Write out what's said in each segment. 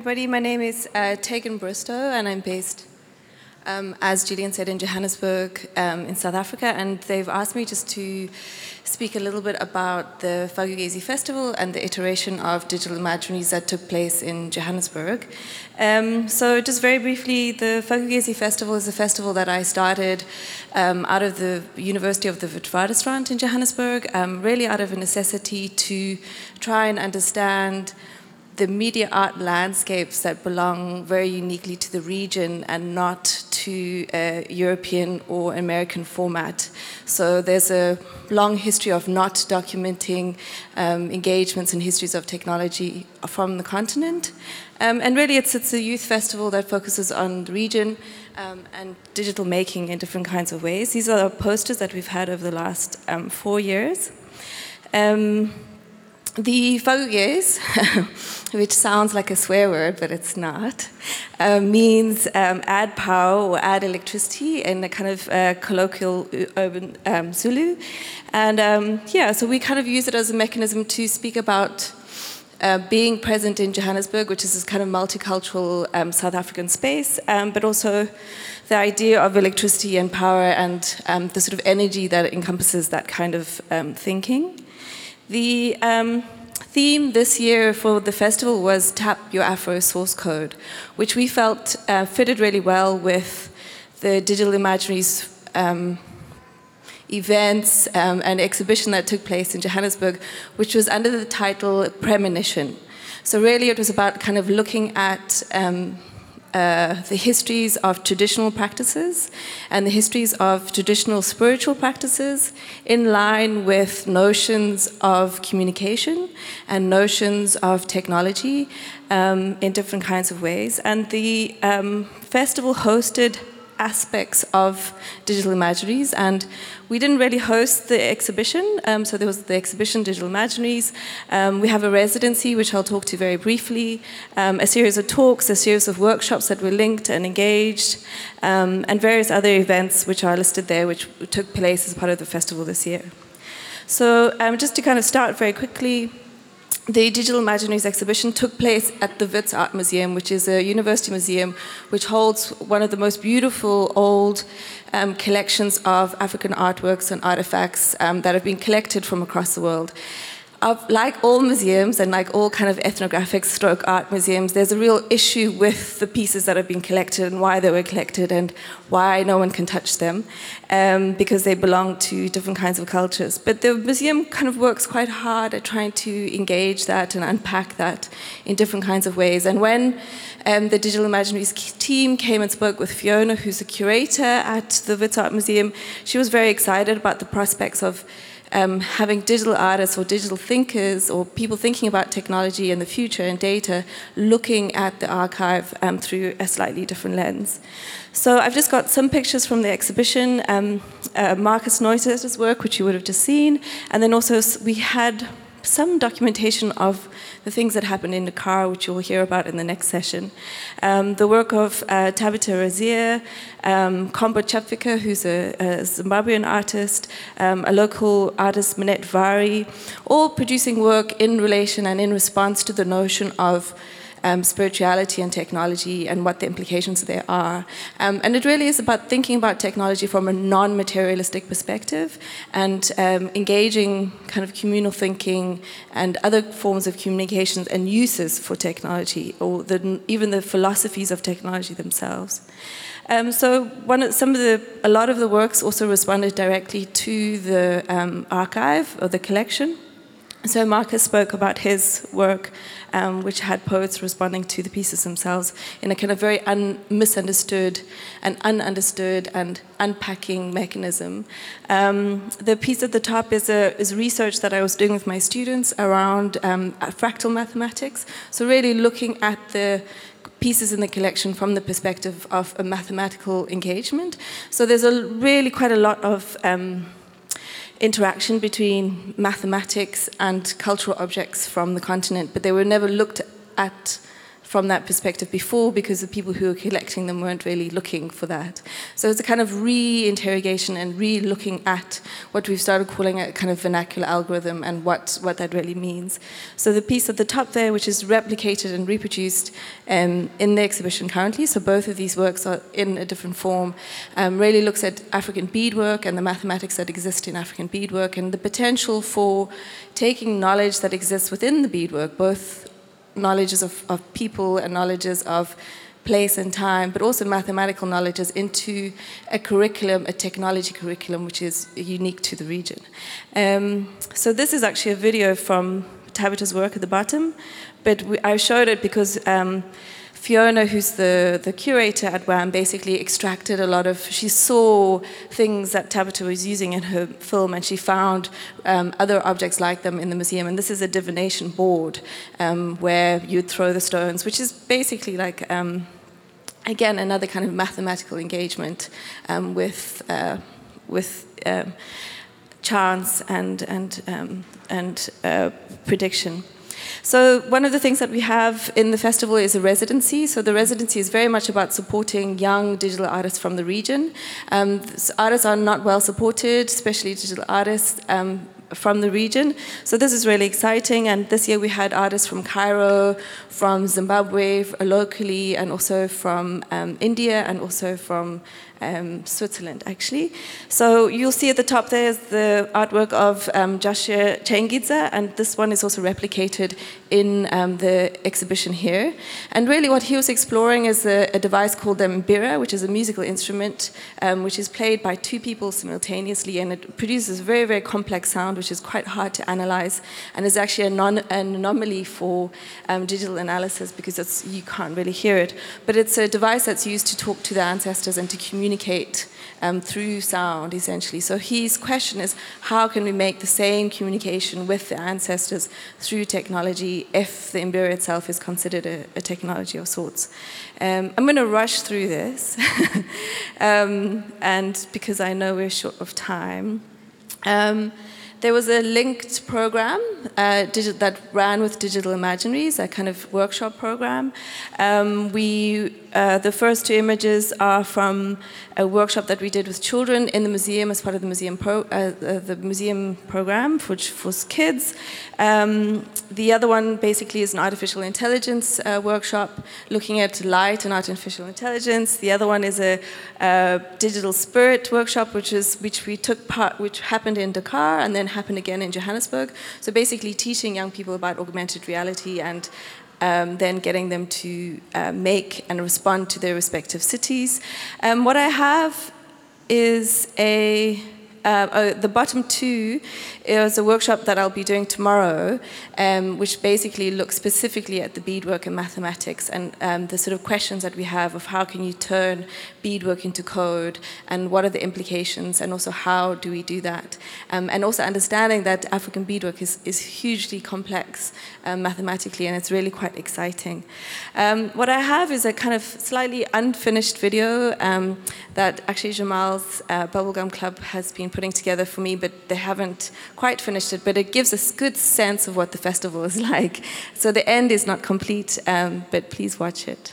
everybody. My name is Tegan Bristow, and I'm based, as Julian said, in Johannesburg, in South Africa. And they've asked me just to speak a little bit about the Fagugezi Festival and the iteration of digital imaginaries that took place in Johannesburg. So just very briefly, the Fagugezi Festival is a festival that I started out of the University of the Witwatersrand in Johannesburg, really out of a necessity to try and understand the media art landscapes that belong very uniquely to the region and not to a European or American format. So there's a long history of not documenting engagements and histories of technology from the continent. And really it's a youth festival that focuses on the region and digital making in different kinds of ways. These are posters that we've had over the last 4 years. The Fagugezi, which sounds like a swear word, but it's not, means add power or add electricity in a kind of colloquial urban Zulu. And so we kind of use it as a mechanism to speak about being present in Johannesburg, which is this kind of multicultural South African space, but also the idea of electricity and power and the sort of energy that encompasses that kind of thinking. The theme this year for the festival was Tap Your Afro Source Code, which we felt fitted really well with the Digital Imaginaries events and exhibition that took place in Johannesburg, which was under the title Premonition. So really it was about kind of looking at the histories of traditional practices and the histories of traditional spiritual practices in line with notions of communication and notions of technology in different kinds of ways. And the festival hosted aspects of digital imaginaries, and we didn't really host the exhibition, so there was the exhibition Digital Imaginaries. We have a residency, which I'll talk to very briefly, a series of talks, a series of workshops that were linked and engaged, and various other events which are listed there, which took place as part of the festival this year. So just to kind of start very quickly, the Digital Imaginaries exhibition took place at the Wits Art Museum, which is a university museum which holds one of the most beautiful old collections of African artworks and artifacts that have been collected from across the world. Like all museums and like all kind of ethnographic stroke art museums, there's a real issue with the pieces that have been collected and why they were collected and why no one can touch them, because they belong to different kinds of cultures. But the museum kind of works quite hard at trying to engage that and unpack that in different kinds of ways. And when the Digital Imaginaries team came and spoke with Fiona, who's a curator at the Wits Art Museum, she was very excited about the prospects of having digital artists or digital thinkers or people thinking about technology and the future and data looking at the archive through a slightly different lens. So I've just got some pictures from the exhibition, Marcus Neusser's work, which you would have just seen, and then also we had some documentation of the things that happened in the car, which you'll hear about in the next session. The work of Tabitha Razia, Kombo Chapvika, who's a Zimbabwean artist, a local artist, Minette Vari, all producing work in relation and in response to the notion of spirituality and technology and what the implications there are. And it really is about thinking about technology from a non-materialistic perspective and engaging kind of communal thinking and other forms of communications and uses for technology, or even the philosophies of technology themselves. So a lot of the works also responded directly to the archive or the collection. So Marcus spoke about his work, which had poets responding to the pieces themselves in a kind of very misunderstood and ununderstood and unpacking mechanism. The piece at the top is research that I was doing with my students around fractal mathematics. So really looking at the pieces in the collection from the perspective of a mathematical engagement. So there's really quite a lot of interaction between mathematics and cultural objects from the continent, but they were never looked at from that perspective before, because the people who were collecting them weren't really looking for that. So it's a kind of re-interrogation and re-looking at what we've started calling a kind of vernacular algorithm and what that really means. So the piece at the top there, which is replicated and reproduced in the exhibition currently, so both of these works are in a different form, really looks at African beadwork and the mathematics that exist in African beadwork and the potential for taking knowledge that exists within the beadwork, both knowledges of people and knowledges of place and time, but also mathematical knowledges into a curriculum, a technology curriculum, which is unique to the region. So this is actually a video from Tabitha's work at the bottom, but I showed it because Fiona, who's the curator at WAM, basically extracted a lot of, she saw things that Tabitha was using in her film, and she found other objects like them in the museum. And this is a divination board where you'd throw the stones, which is basically like, again, another kind of mathematical engagement with chance and prediction. So one of the things that we have in the festival is a residency. So the residency is very much about supporting young digital artists from the region. Artists are not well supported, especially digital artists from the region. So this is really exciting. And this year we had artists from Cairo, from Zimbabwe locally, and also from India, and also from Switzerland, actually. So you'll see at the top there is the artwork of Joshua Chengidza, and this one is also replicated in the exhibition here. And really what he was exploring is a device called the mbira, which is a musical instrument which is played by two people simultaneously, and it produces a very, very complex sound, which is quite hard to analyze, and is actually an anomaly for digital analysis because you can't really hear it. But it's a device that's used to talk to the ancestors and to communicate through sound, essentially. So his question is, how can we make the same communication with the ancestors through technology if the mbira itself is considered a technology of sorts? I'm going to rush through this, and because I know we're short of time. There was a linked program that ran with Digital Imaginaries, a kind of workshop program. The first two images are from a workshop that we did with children in the museum as part of the museum program, which was kids. The other one basically is an artificial intelligence workshop looking at light and artificial intelligence. The other one is a digital spirit workshop, which happened in Dakar and then happened again in Johannesburg. So basically teaching young people about augmented reality and then getting them to make and respond to their respective cities. What I have is the bottom two is a workshop that I'll be doing tomorrow, which basically looks specifically at the beadwork and mathematics and the sort of questions that we have of how can you turn beadwork into code and what are the implications and also how do we do that. And also understanding that African beadwork is hugely complex mathematically, and it's really quite exciting. What I have is a kind of slightly unfinished video that actually Jamal's Bubblegum Club has been putting together for me, but they haven't quite finished it, but it gives a good sense of what the festival is like. So the end is not complete, but please watch it.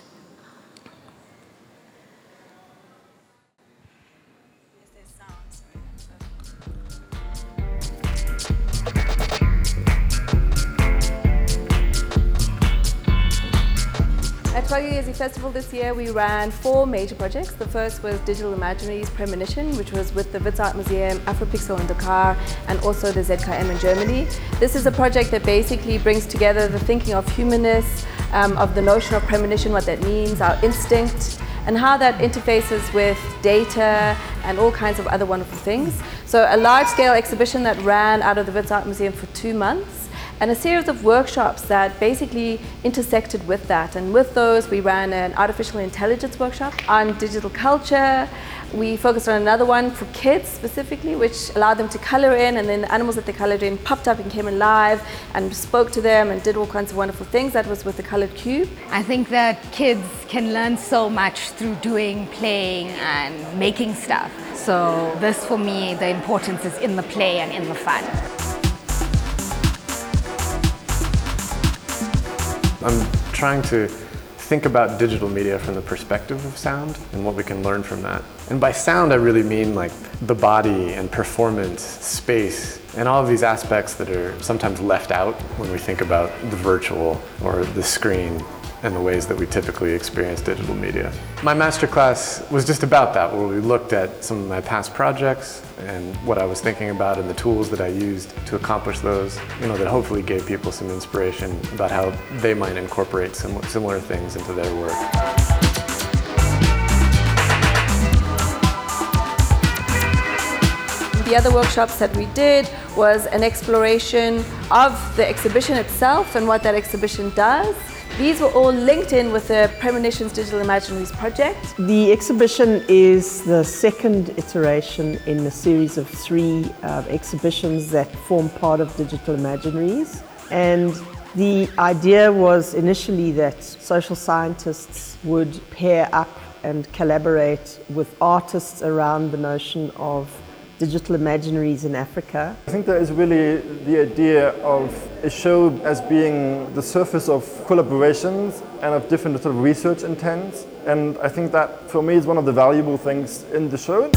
At Tshwane Years Festival this year, we ran 4 major projects. The first was Digital Imaginaries Premonition, which was with the Wits Art Museum, Afropixel in Dakar, and also the ZKM in Germany. This is a project that basically brings together the thinking of humanists, of the notion of premonition, what that means, our instinct, and how that interfaces with data and all kinds of other wonderful things. So a large-scale exhibition that ran out of the Wits Art Museum for 2 months, and a series of workshops that basically intersected with that. And with those, we ran an artificial intelligence workshop on digital culture. We focused on another one for kids specifically, which allowed them to color in, and then the animals that they colored in popped up and came alive and spoke to them and did all kinds of wonderful things. That was with the colored cube. I think that kids can learn so much through doing, playing, and making stuff. So this, for me, the importance is in the play and in the fun. I'm trying to think about digital media from the perspective of sound and what we can learn from that. And by sound, I really mean like the body and performance, space, and all of these aspects that are sometimes left out when we think about the virtual or the screen and the ways that we typically experience digital media. My masterclass was just about that, where we looked at some of my past projects and what I was thinking about and the tools that I used to accomplish those, that hopefully gave people some inspiration about how they might incorporate some similar things into their work. The other workshops that we did was an exploration of the exhibition itself and what that exhibition does. These were all linked in with the Premonitions Digital Imaginaries project. The exhibition is the second iteration in a series of 3 exhibitions that form part of Digital Imaginaries. And the idea was initially that social scientists would pair up and collaborate with artists around the notion of digital imaginaries in Africa. I think there is really the idea of a show as being the surface of collaborations and of different sort of research intents. And I think that for me is one of the valuable things in the show.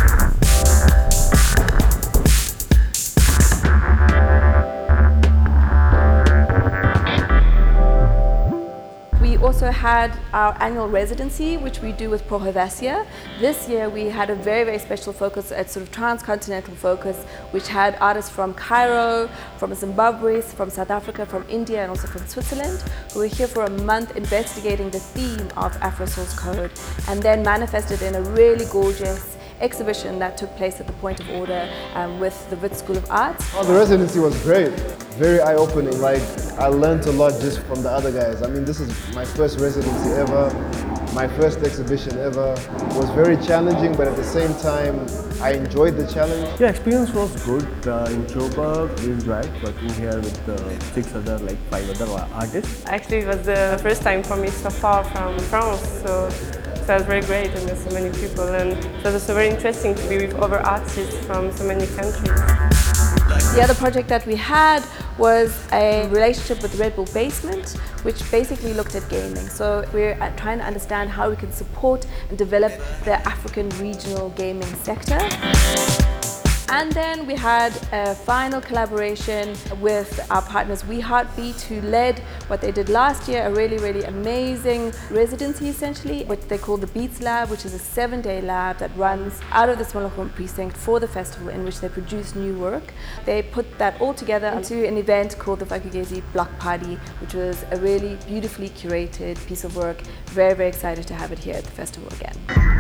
We also had our annual residency, which we do with Pro Helvetia. This year we had a very, very special focus, a sort of transcontinental focus, which had artists from Cairo, from Zimbabwe, from South Africa, from India, and also from Switzerland, who were here for a month investigating the theme of Afro Source Code, and then manifested in a really gorgeous exhibition that took place at the Point of Order with the Wits School of Arts. Oh, the residency was great, very eye-opening. Like, I learned a lot just from the other guys. I mean, this is my first residency ever, my first exhibition ever. It was very challenging, but at the same time, I enjoyed the challenge. Yeah, experience was good. In Joburg, we enjoyed working here with 5 other artists. Actually, it was the first time for me so far from France, so it was very great and there's so many people, and it was also very interesting to be with other artists from so many countries. The other project that we had was a relationship with Red Bull Basement, which basically looked at gaming. So we're trying to understand how we can support and develop the African regional gaming sector. And then we had a final collaboration with our partners We Heartbeat, who led what they did last year, a really, really amazing residency essentially, what they call the Beats Lab, which is a 7-day lab that runs out of the Smallhoek precinct for the festival, in which they produce new work. They put that all together into an event called the Vakugezi Block Party, which was a really beautifully curated piece of work. Very, very excited to have it here at the festival again.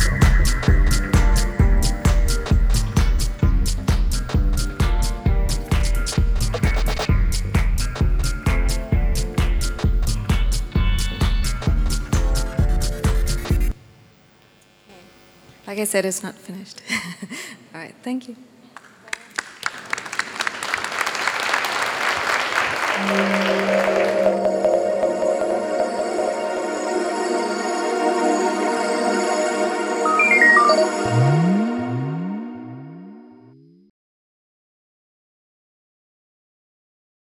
Like I said, it's not finished. All right, thank you.